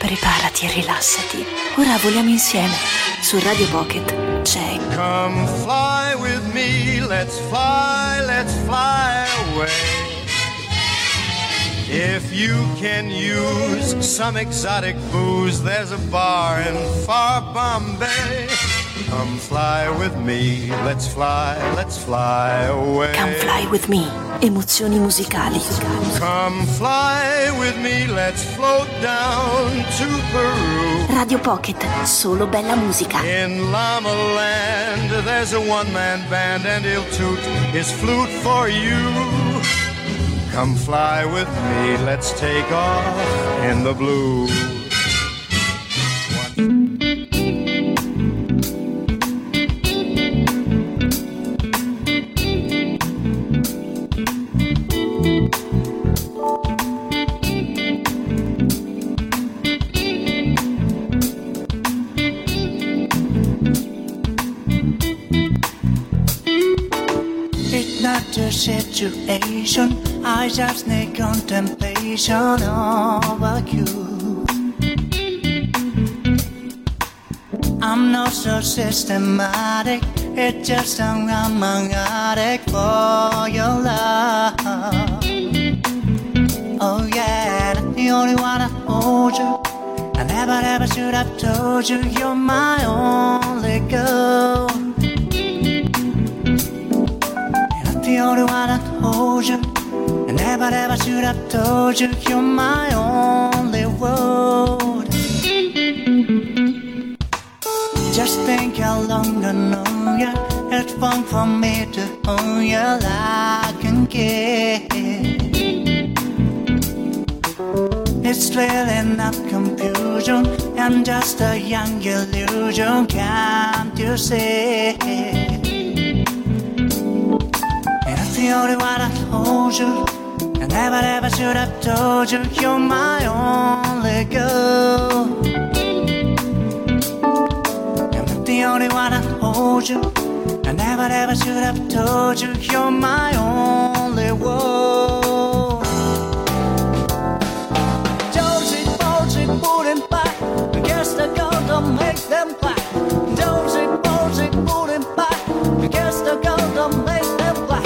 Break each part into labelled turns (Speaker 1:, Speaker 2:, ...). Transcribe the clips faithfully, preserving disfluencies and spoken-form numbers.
Speaker 1: Preparati e rilassati. Ora voliamo insieme. Su Radio Pocket c'è
Speaker 2: Come fly with me, let's fly, let's fly away. If you can use some exotic booze, there's a bar in far Bombay. Come fly with me, let's fly, let's fly away.
Speaker 1: Come Fly With Me, emozioni musicali.
Speaker 2: Come fly with me, let's float down to Peru.
Speaker 1: Radio Pocket, solo bella musica.
Speaker 2: In Llama Land, there's a one-man band and he'll toot his flute for you. Come fly with me, let's take off in the blue.
Speaker 3: Situation, I just need contemplation over you. I'm not so systematic, it's just I'm an addict for your love. Oh yeah, the only one I hold you. I never ever should have told you you're my only girl. The only one that holds you. I never ever should have told you you're my only world. Just think how long I know you. It's fun for me to own you like I get. It's really not confusion. I'm just a young illusion, can't you see? The only one that holds you. I never ever should have told you you're my only girl. I'm not the only one that holds you. I never ever should have told you you're my only world. Josie, Bosie, pulling back. I guess the girl don't make them black. Josie, Bosie, pulling back. I guess the girl don't make them black.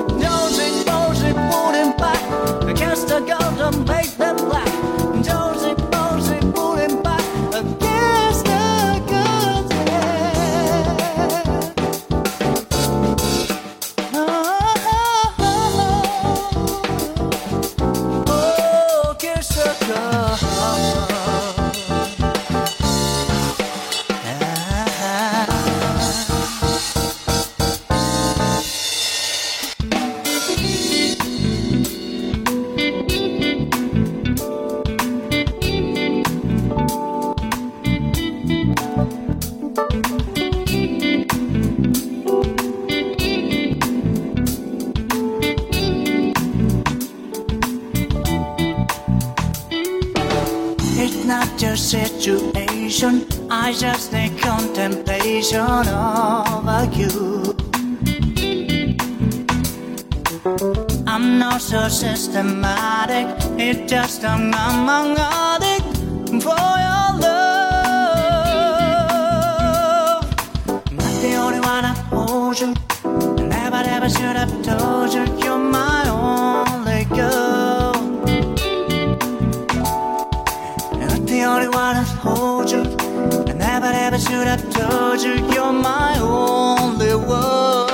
Speaker 3: I guess the girl don't make them black. Josie, Bosie, pulling back. I guess the girl's oh, oh, oh, oh, kiss the girl. Situation, I just need contemplation over you. I'm not so systematic, it's just I'm an addict for your love. I'm not the only one that holds you. I never ever should have told you you're my only girl. The only one that holds you. I never ever should have told you you're my only world.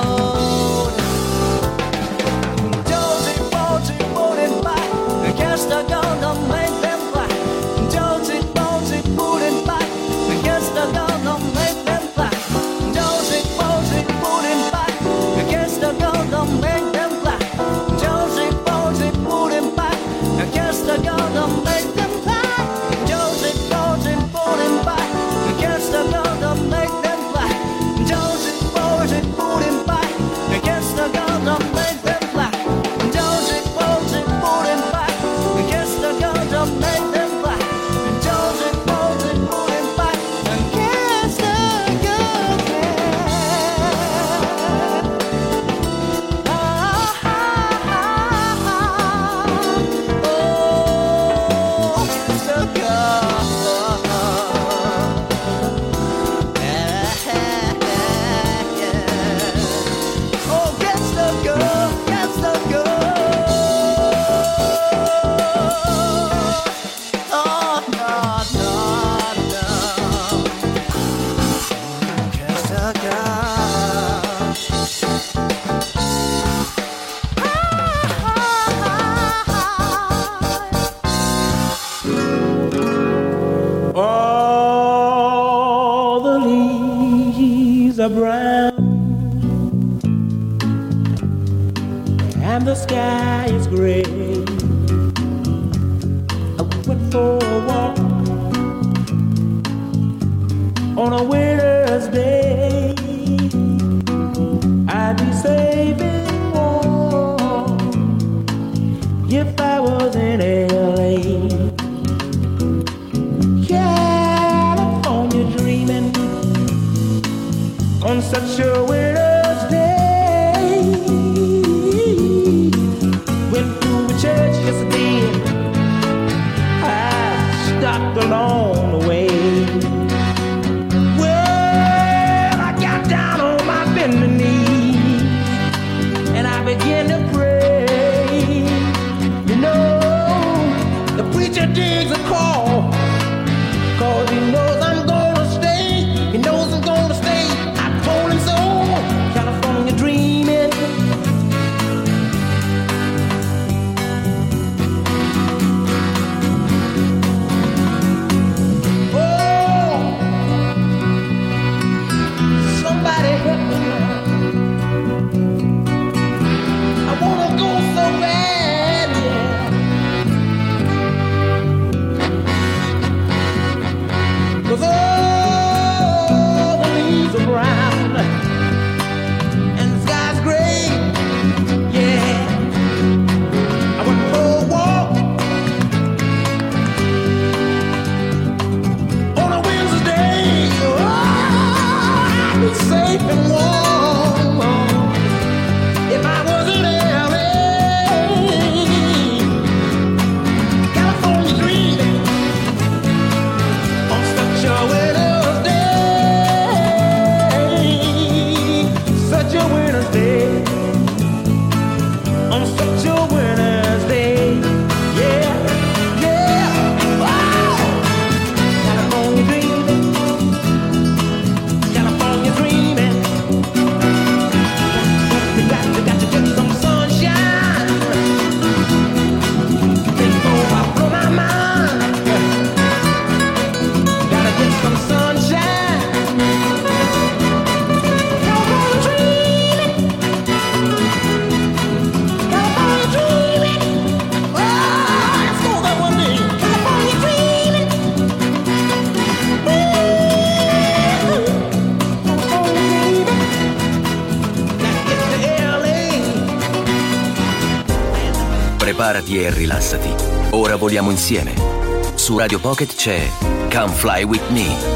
Speaker 3: Josie, Bosie, pulling back. I guess the girl don't make them black. Josie, Bosie, pulling back. I guess the girl don't make them black. Josie, Bosie, pulling back. I guess the girl don't make them black. Josie, Bosie, pulling back. I guess the girl don't make them black. Josie, Bosie, pulling back. I guess the girl don't make them black. Josie, Bosie, pulling back. I guess the girl don't make them black. Josie, Bosie, pulling back. I guess the
Speaker 4: All the leaves are brown and the sky is gray. I went for a walk on a winter's day. I'd be safe and warm if I was in L A. California dreaming on such a winter's day. Went to a church yesterday, I stopped along the way. Well, I got down on my bending knee and I began to pray. You know, the preacher digs a call, cause he knows I'm gonna stay. He knows I'm gonna stay. I told him so. California dreaming. Oh, somebody help me now. I wanna go so bad, yeah. Cause all the leaves are brown and the sky's gray, yeah. I went for a walk on a Wednesday. Oh, I'd be safe and warm if I was in L A. California dreaming on such a winter's day, such a winter's day, on such a winter's day, yeah, yeah. Wow. California dreaming, California dreaming. You got, you got to get some sunshine before I blow my mind. Gotta get some sunshine. California dreaming. California dreaming. Oh, let's go that one day. California dreaming. Woo. California dreaming. Gotta get to L A.
Speaker 5: Preparati e rilassati. Ora voliamo insieme. Su Radio Pocket c'è Come Fly With Me.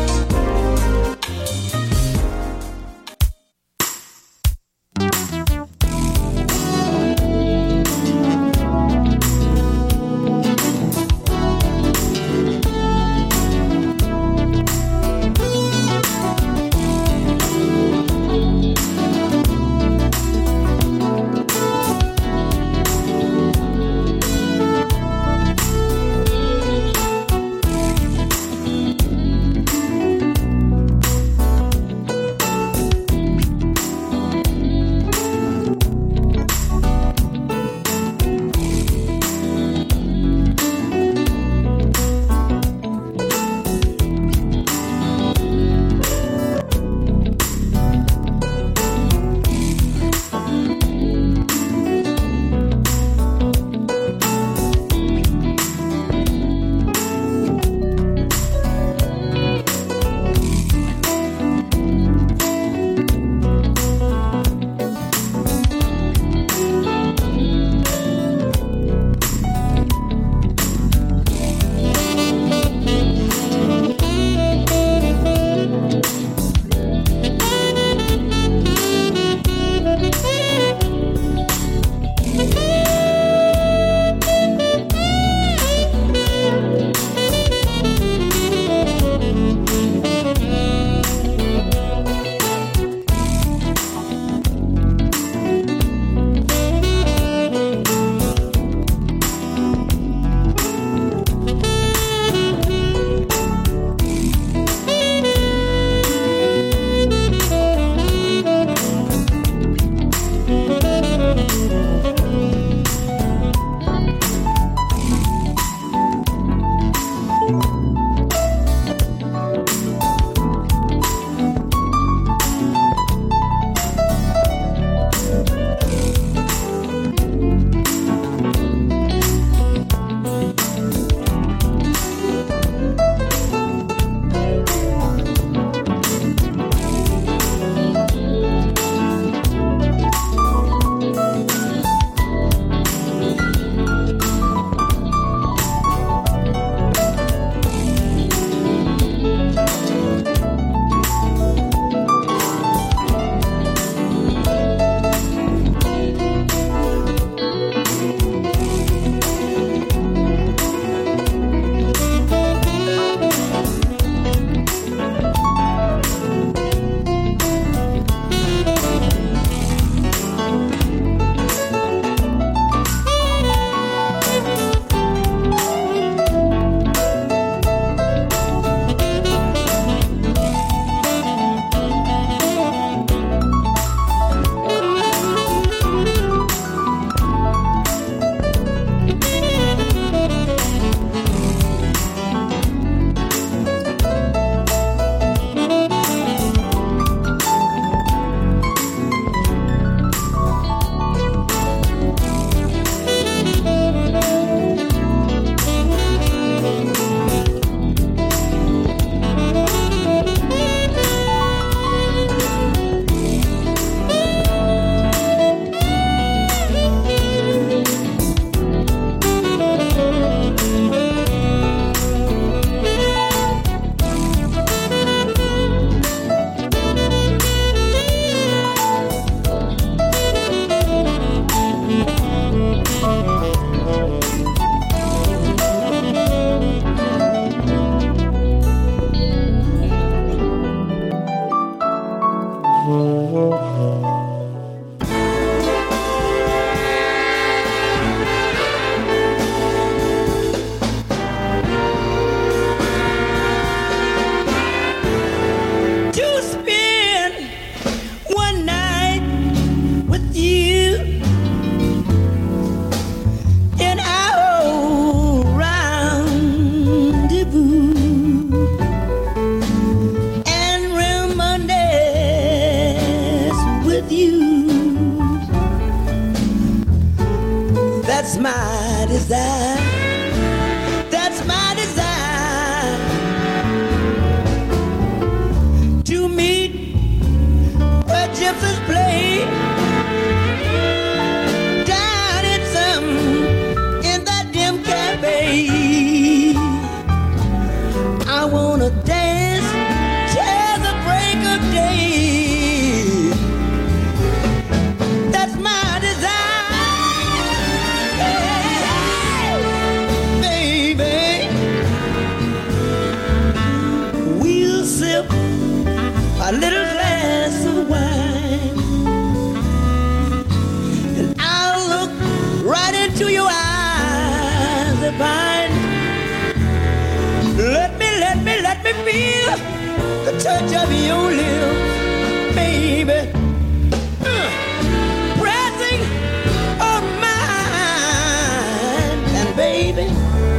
Speaker 4: touch of your lips, baby, uh, pressing on mine, and baby,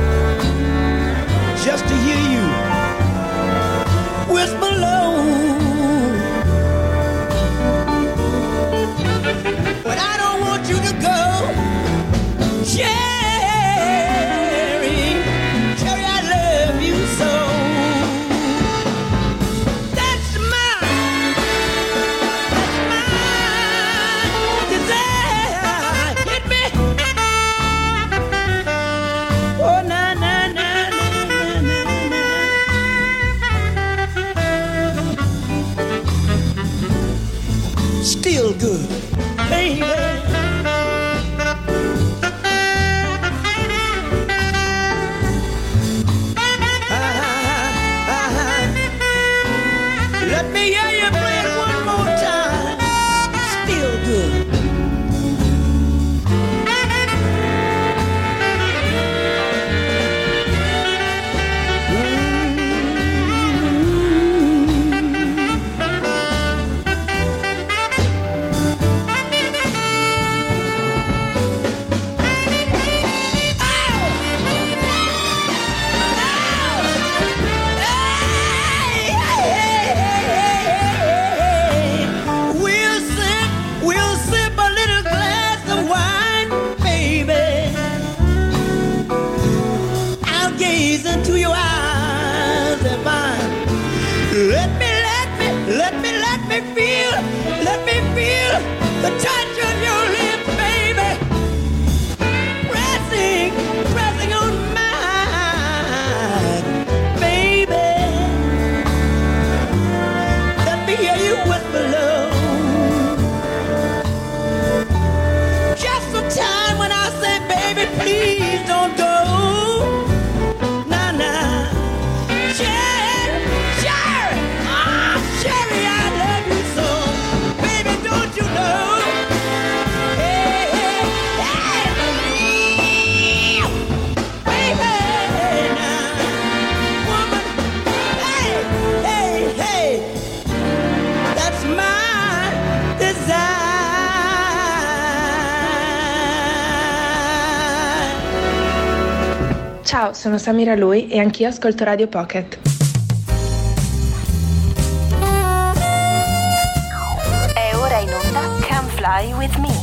Speaker 4: just to hear you whisper low. But I don't want you to go, Cherry, Cherry, I love you so. That's my, that's my desire. Hit me. Oh, na na na na na na. Still good, baby. Let me hear you play it one more time. Still good. We'll sip, we'll sip a little glass of wine, baby. I'll gaze into your eyes and mine. Let me, let me, let me, let me feel, let me feel the touch of your lips, baby. Pressing, pressing on mine, baby. Let me hear you whisper low. Just the time when I say, baby, please don't go. Nah, nah. Cherry, Cherry, ah, Cherry, I love you so. Baby, don't you know? Hey, hey, hey. Baby, now, woman, hey, hey, hey. That's my desire.
Speaker 6: Ciao, sono Samira Lui e anch'io ascolto Radio Pocket.
Speaker 1: È ora in onda Come Fly With Me.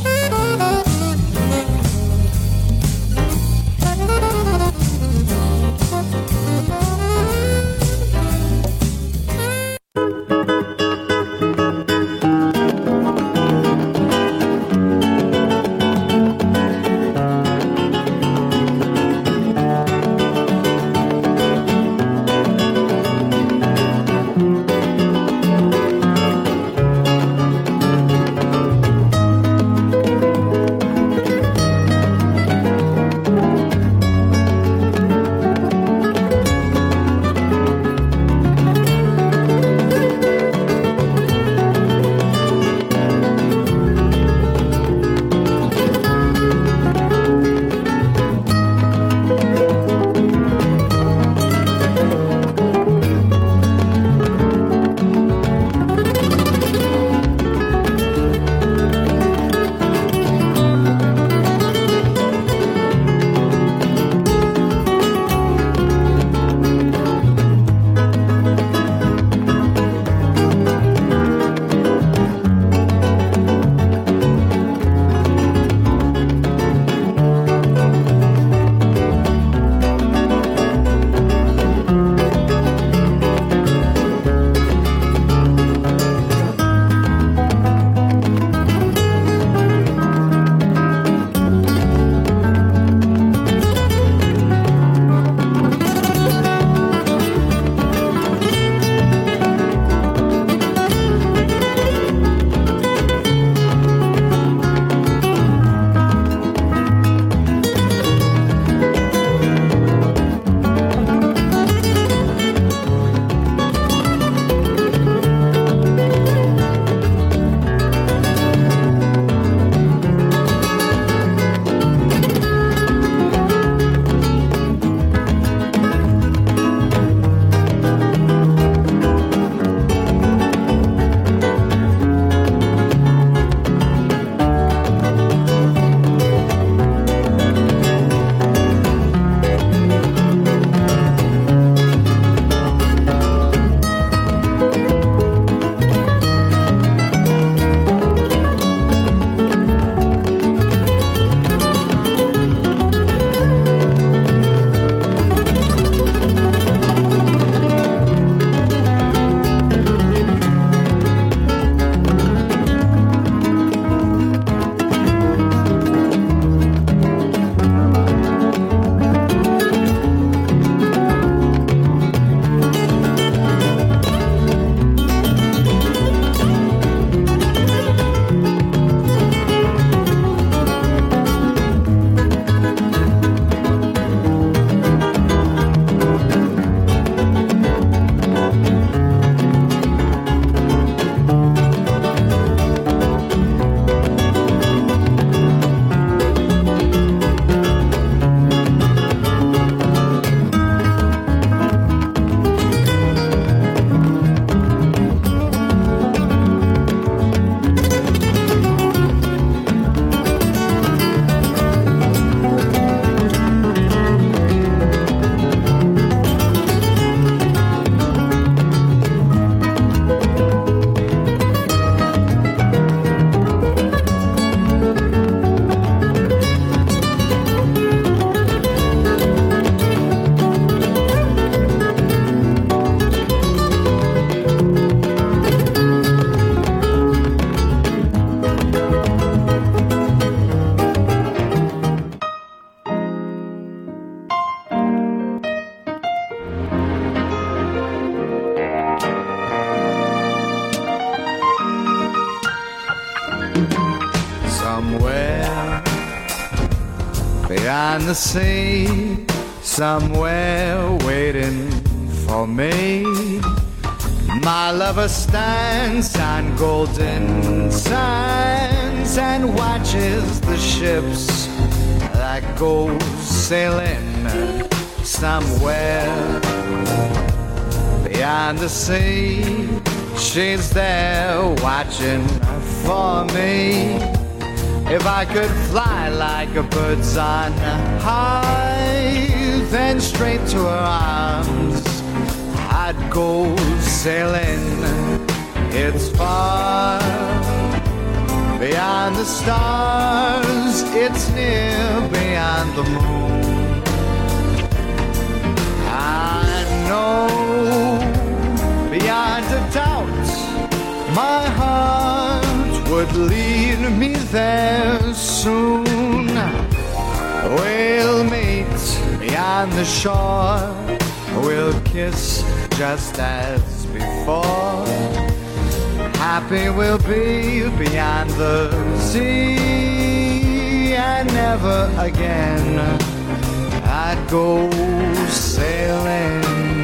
Speaker 2: beyond the sea, somewhere waiting for me. My lover stands on golden sands and watches the ships that go sailing somewhere beyond the sea. She's there watching for me. If I could fly like a bird's on high, then straight to her arms I'd go sailing. It's far beyond the stars, it's near beyond the moon. I know beyond a doubt my heart would lead me there soon. We'll meet beyond the shore, we'll kiss just as before. Happy we'll be beyond the sea, and never again I'd go sailing.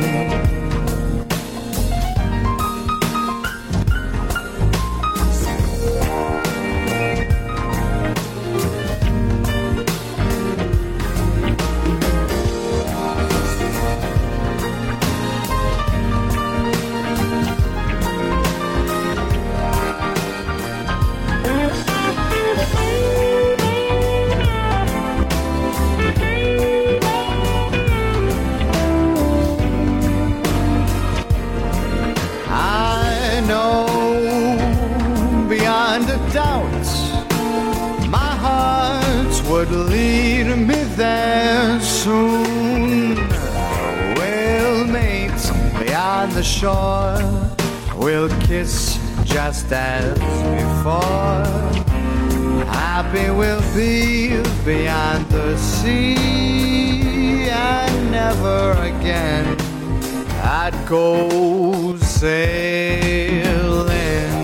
Speaker 2: Would lead me there soon. We'll meet beyond the shore, we'll kiss just as before. Happy we'll be beyond the sea, and never again I'd go sailing.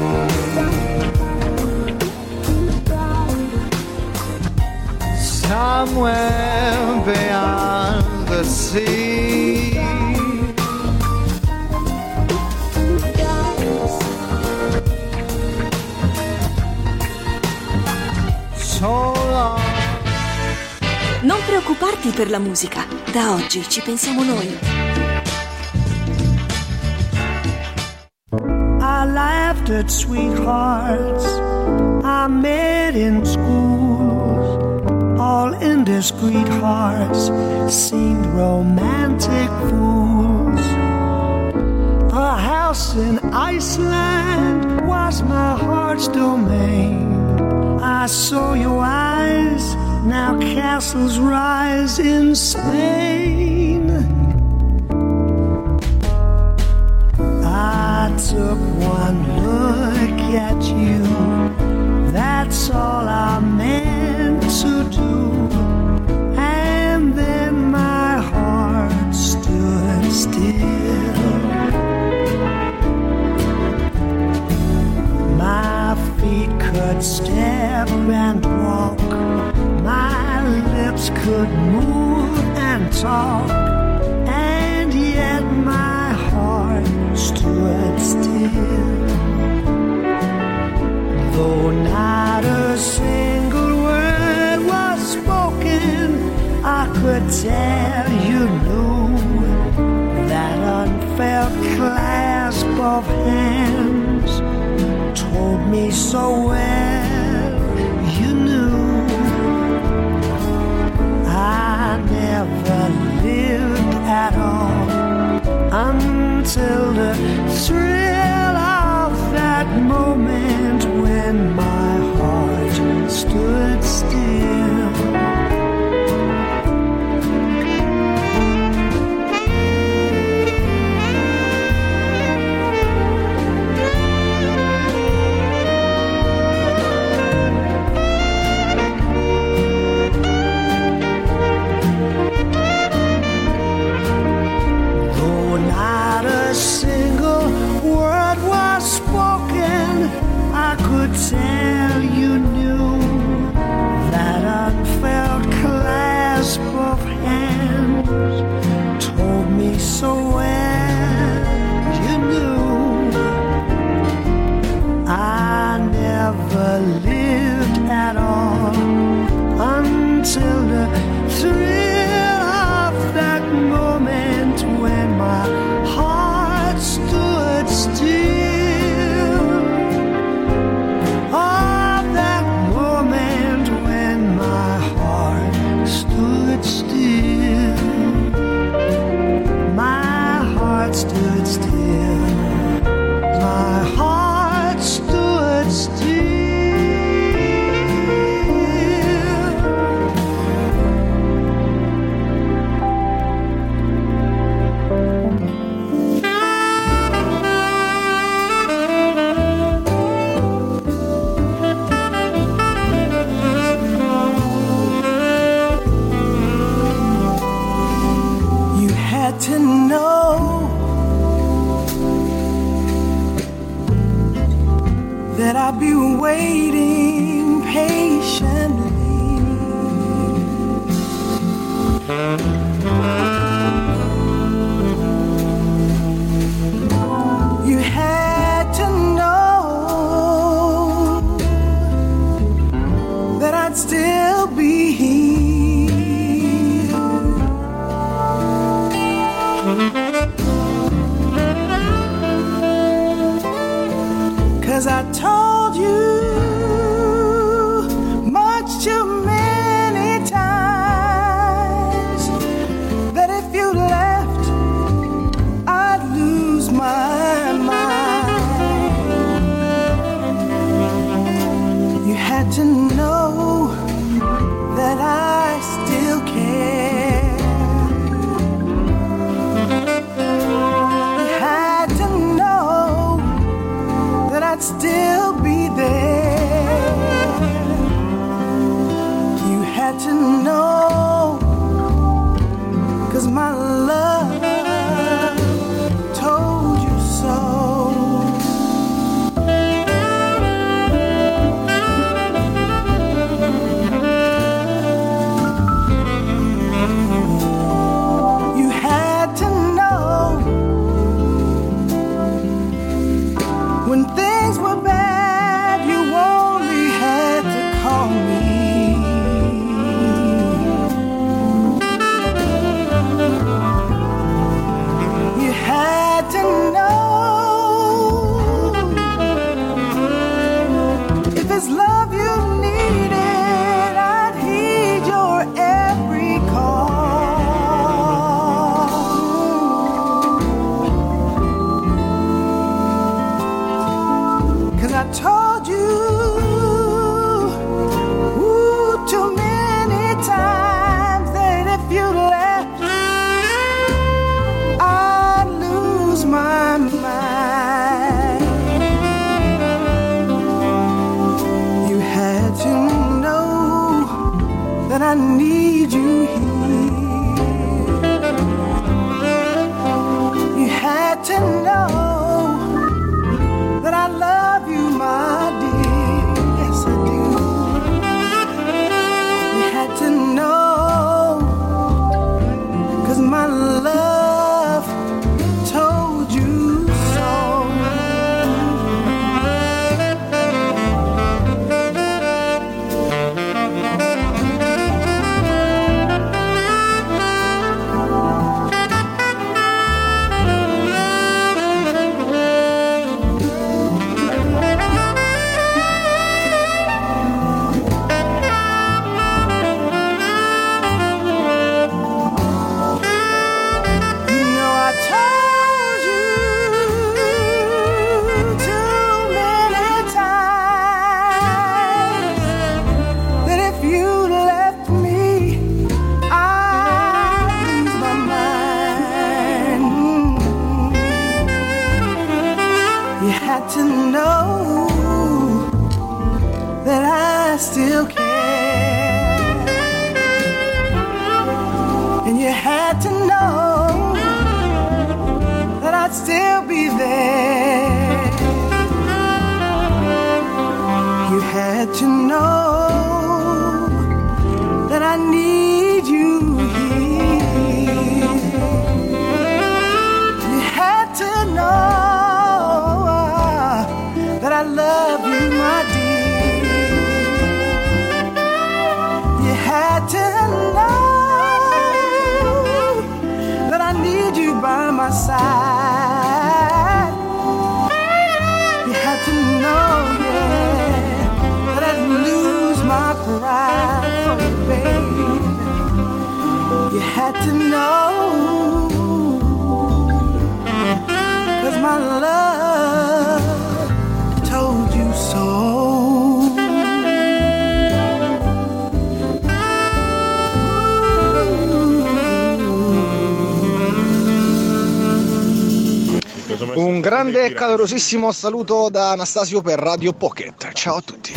Speaker 2: Somewhere beyond the sea. So long.
Speaker 1: Non preoccuparti per la musica, da oggi ci pensiamo noi.
Speaker 3: I laughed at sweethearts I met in school. All indiscreet hearts seemed romantic fools. A house in Iceland was my heart's domain. I saw your eyes, now castles rise in Spain. I took one look at you, that's all I meant to do, and then my heart stood still. My feet could step and walk, my lips could move and talk, and yet my heart stood still. Though not a single word was spoken, I could tell you knew. That unfelt clasp of hands told me so well, you knew. I never lived at all until the thrill of that moment when my heart stood still. Tell you knew that I had to know that I'd be waiting patiently. You had to know that I'd still be here. 'Cause I told you much too many times that if you left, I'd lose my mind. You had to know that I still care. You had to know that I'd still be there. You had to know, 'cause my love told you so. You had to know when things were bad, you only had to call me. You had to know if it's love you needed, I'd heed your every call. 'Cause I told you ooh, too many times that if you left, I'd lose my mind. You had to know that I need you here. You had to know that I love you, my dear. Yes, I do. You had to know, 'cause my love told you so. You know I told you too many times that if you left me, I'd lose my mind. You had to know that I still care. And you had to know that I'd still be there. You had to know that I need you here. You had to know that I love you, my dear. You had to know that I need you by my side. You had to know, yeah, that I'd lose my pride for you, baby. You had to know, 'cause my love told you so.
Speaker 7: Un grande e calorosissimo saluto da Anastasio per Radio Pocket. Ciao a tutti.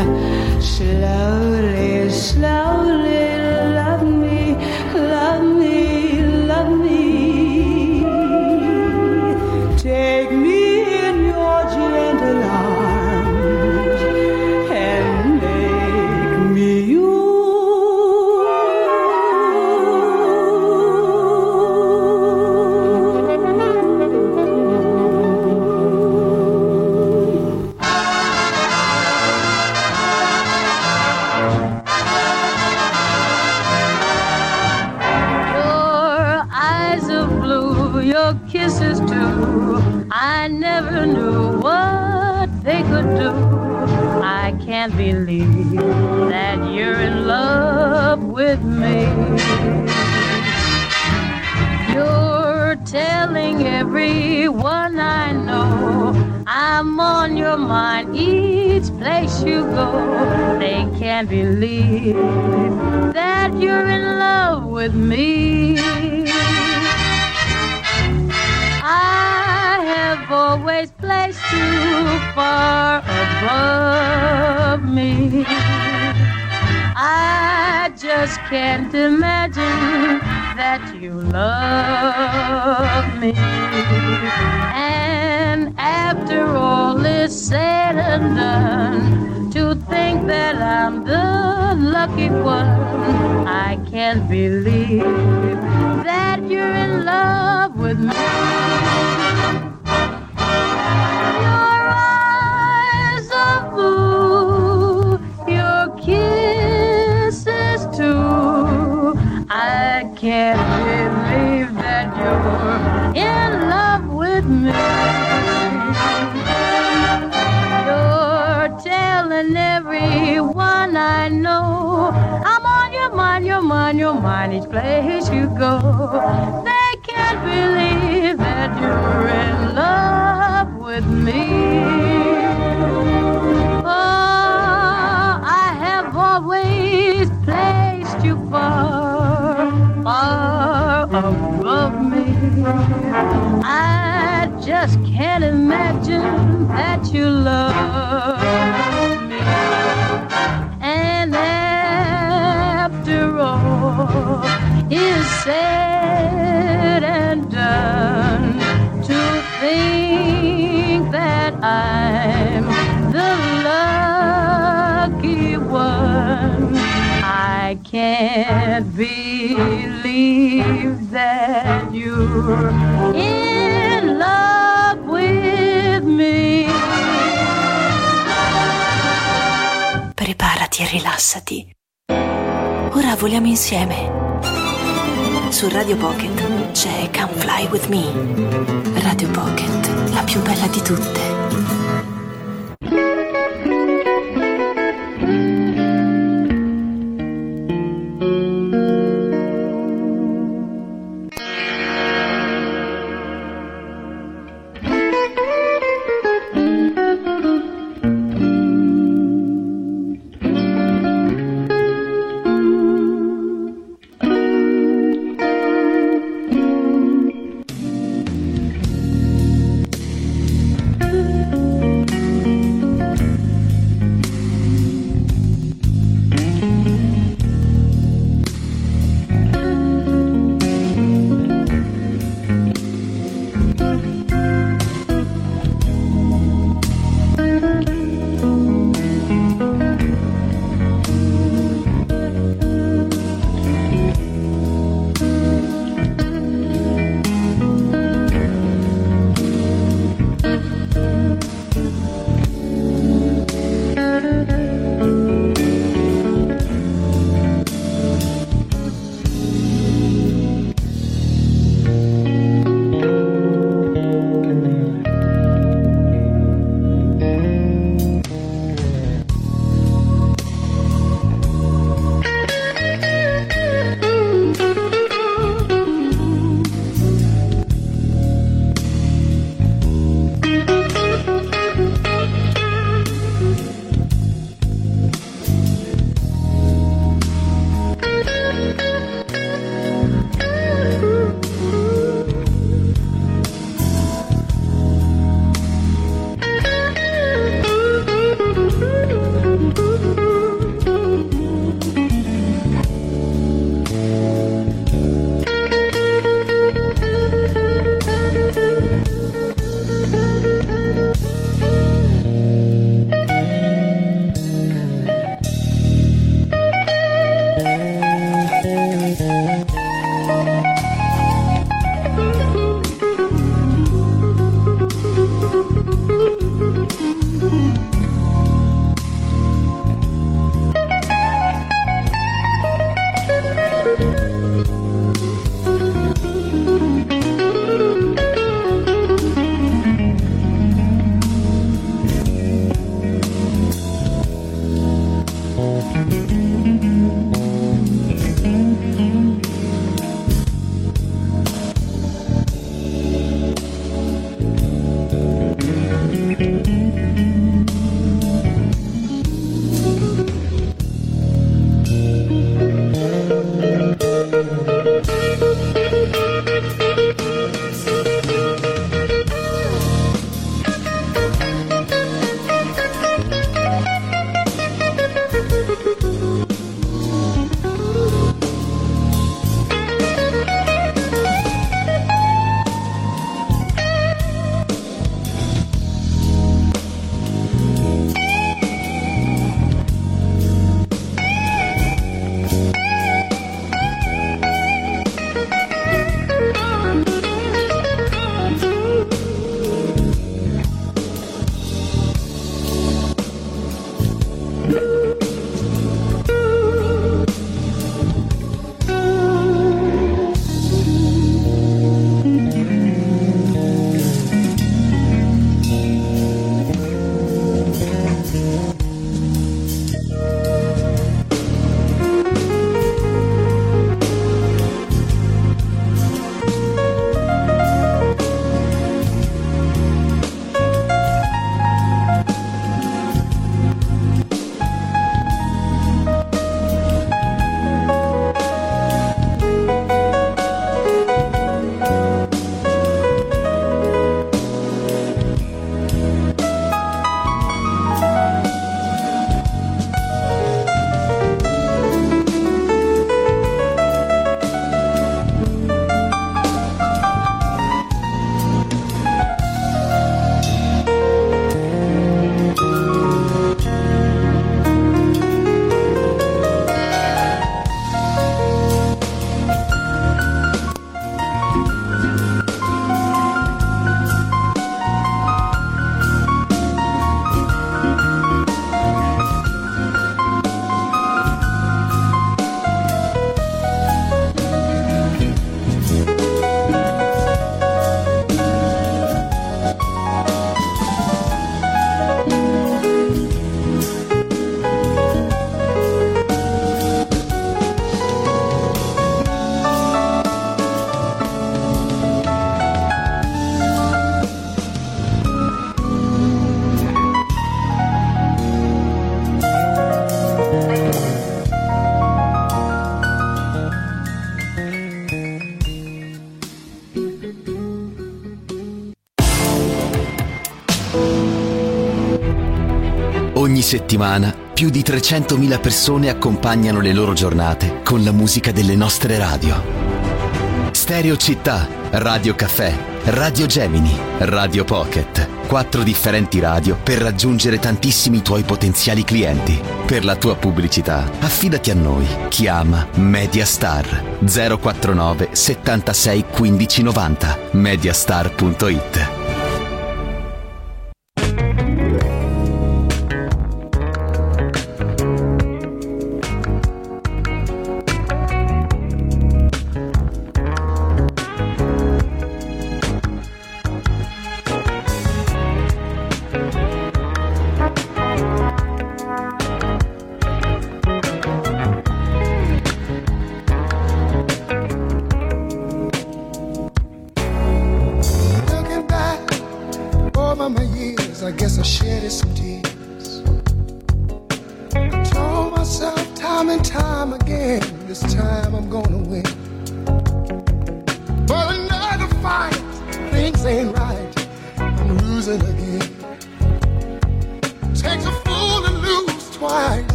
Speaker 3: slowly, slowly love me, love me, love me. Take me in your gentle arms and make me yours. Your kisses too, I never knew what they could do. I can't believe that you're in love with me. You're telling everyone I know I'm on your mind each place you go. They can't believe that you're in love with me. I have always placed you far above me. I just can't imagine that you love me. And after all is said and done, to think that I'm the lucky one, I can't believe that you're in love with me. Your eyes are blue, your kisses too. I can't believe that you're in love with me. You're telling everyone I know I'm on your mind, your mind, your mind each place you go. They can't believe that you're in love with me. Oh, I have always placed you far, far above me. I just can't imagine that you love me. And after all is said and done, to think that I'm the lucky one, I can't believe that you're in love with me.
Speaker 1: Preparati e rilassati. Ora voliamo insieme. Su Radio Pocket c'è Come Fly With Me. Radio Pocket, la più bella di tutte.
Speaker 8: Ogni settimana più di trecentomila persone accompagnano le loro giornate con la musica delle nostre radio. Stereo Città, Radio Caffè, Radio Gemini, Radio Pocket. Quattro differenti radio per raggiungere tantissimi tuoi potenziali clienti. Per la tua pubblicità, affidati a noi. Chiama Mediastar zero quarantanove settantasei quindici novanta. mediastar punto it.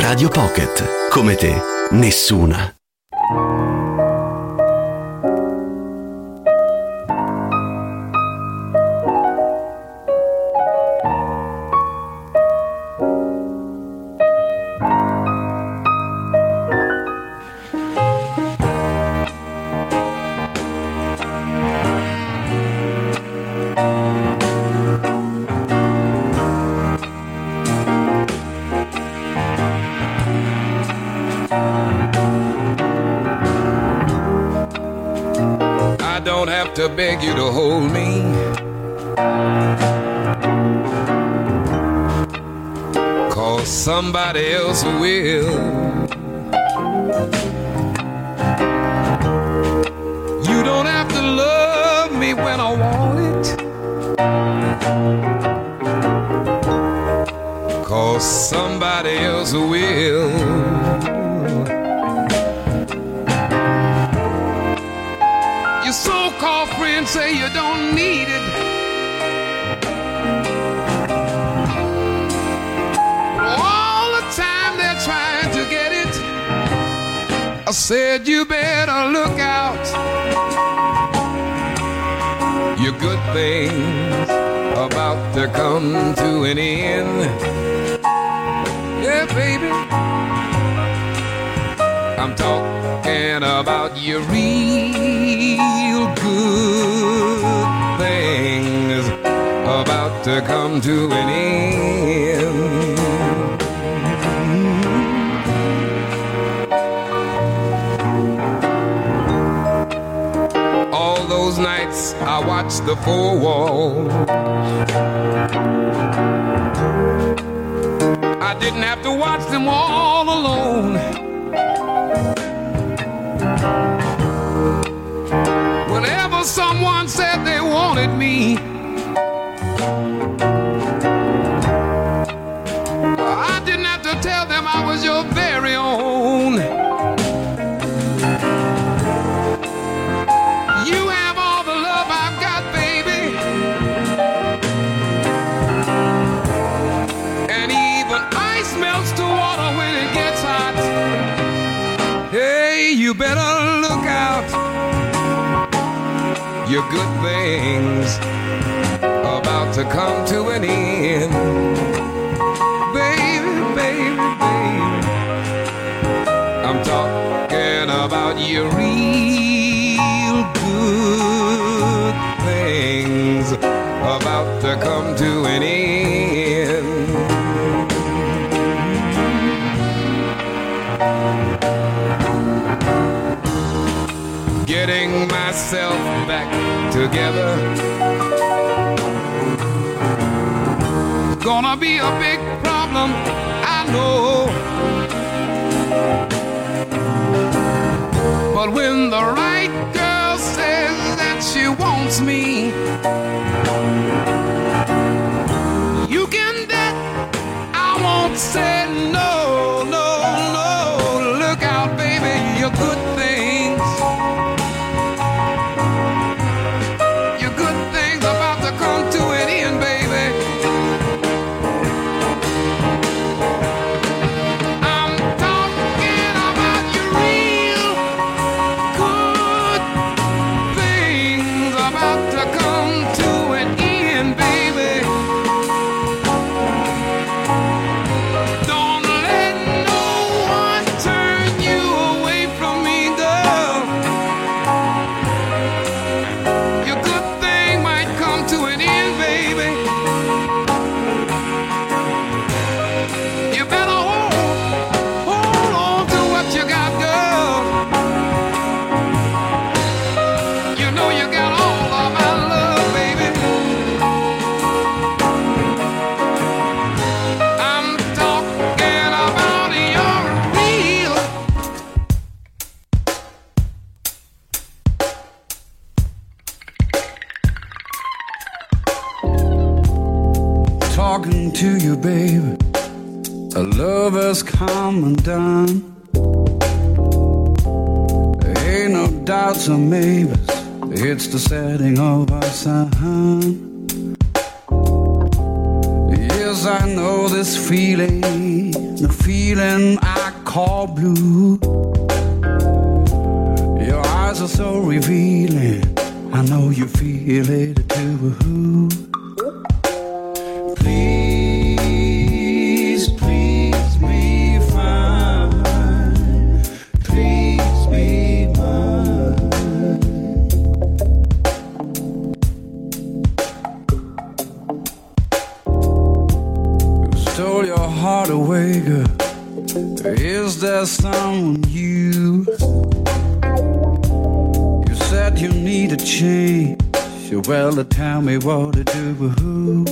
Speaker 8: Radio Pocket. Come te, nessuna.
Speaker 9: To beg you to hold me, cause somebody else will. You don't have to love me when I want it, cause somebody else will. Your so-called friends say you don't need it, all the time they're trying to get it. I said you better look out. Your good things about to come to an end. Yeah, baby, I'm talking about your real good things about to come to an end. All those nights I watched the four walls, I didn't have to watch them all alone. Whenever someone said they wanted me, I didn't have to tell them I was your very own. You have all the love I've got, baby, and even ice melts to water when it gets hot. Hey, you better look out. Your good things about to come to an end. Baby, baby, baby, I'm talking about your real good things about to come to an end. Getting myself back together, gonna be a big problem, I know. But when the right girl says that she wants me, you can bet I won't say no, no, no. Look out, baby, your good things, your good things about to come to an end, baby. I'm talking about your real good things about to come to an end, baby. Don't let no one turn you away from me, girl. Your good thing might come to an end, baby. You better hold, hold on to what you got, girl. You know you got all of my love, baby. I'm talking about your real.
Speaker 10: Talking to you, baby. A lover's come undone. There ain't no doubts or maybes. It's the setting of our sun. Yes, I know this feeling. the feeling I call blue. Your eyes are so revealing, I know you feel it too. Please, please be fine. Please be mine. You stole your heart away, girl. Is there someone you? You said you need a change. Well, tell me what to do.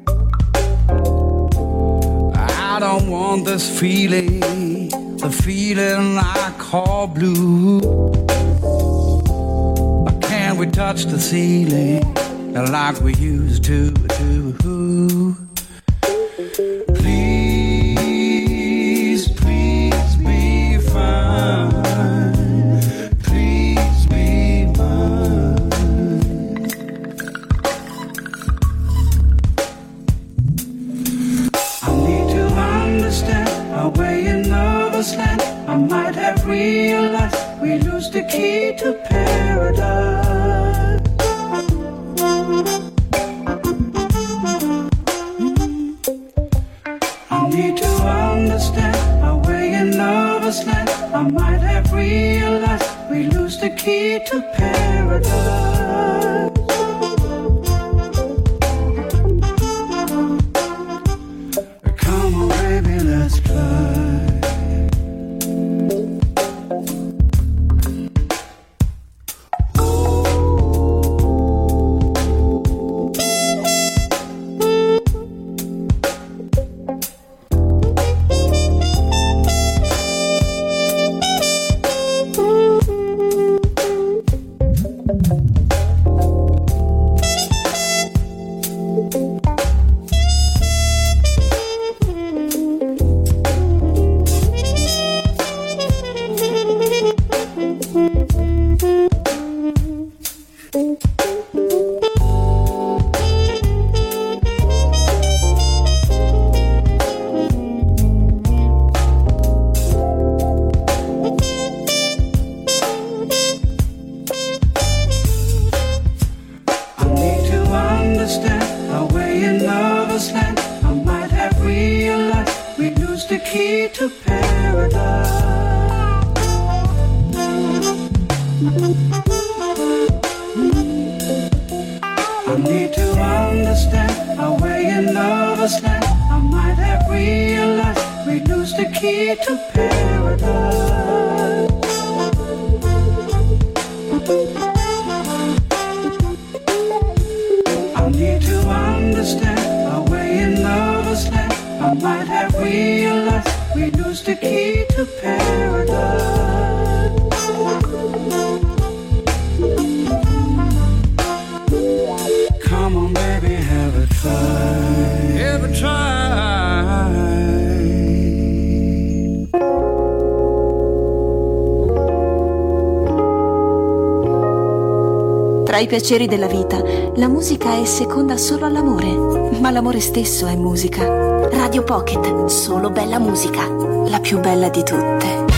Speaker 10: I don't want this feeling, the feeling I call blue. But can't we touch the ceiling like we used to do? Please, please be fine. Please be mine. I need to understand our way in nervous land. I might have realized we lose the key to paradise. I need to understand our way in nervous land. I might have realized we lose the key to paradise. Come on, baby, let's fly.
Speaker 1: Tra i piaceri della vita, la musica è seconda solo all'amore, ma l'amore stesso è musica. Radio Pocket, solo bella musica, la più bella di tutte.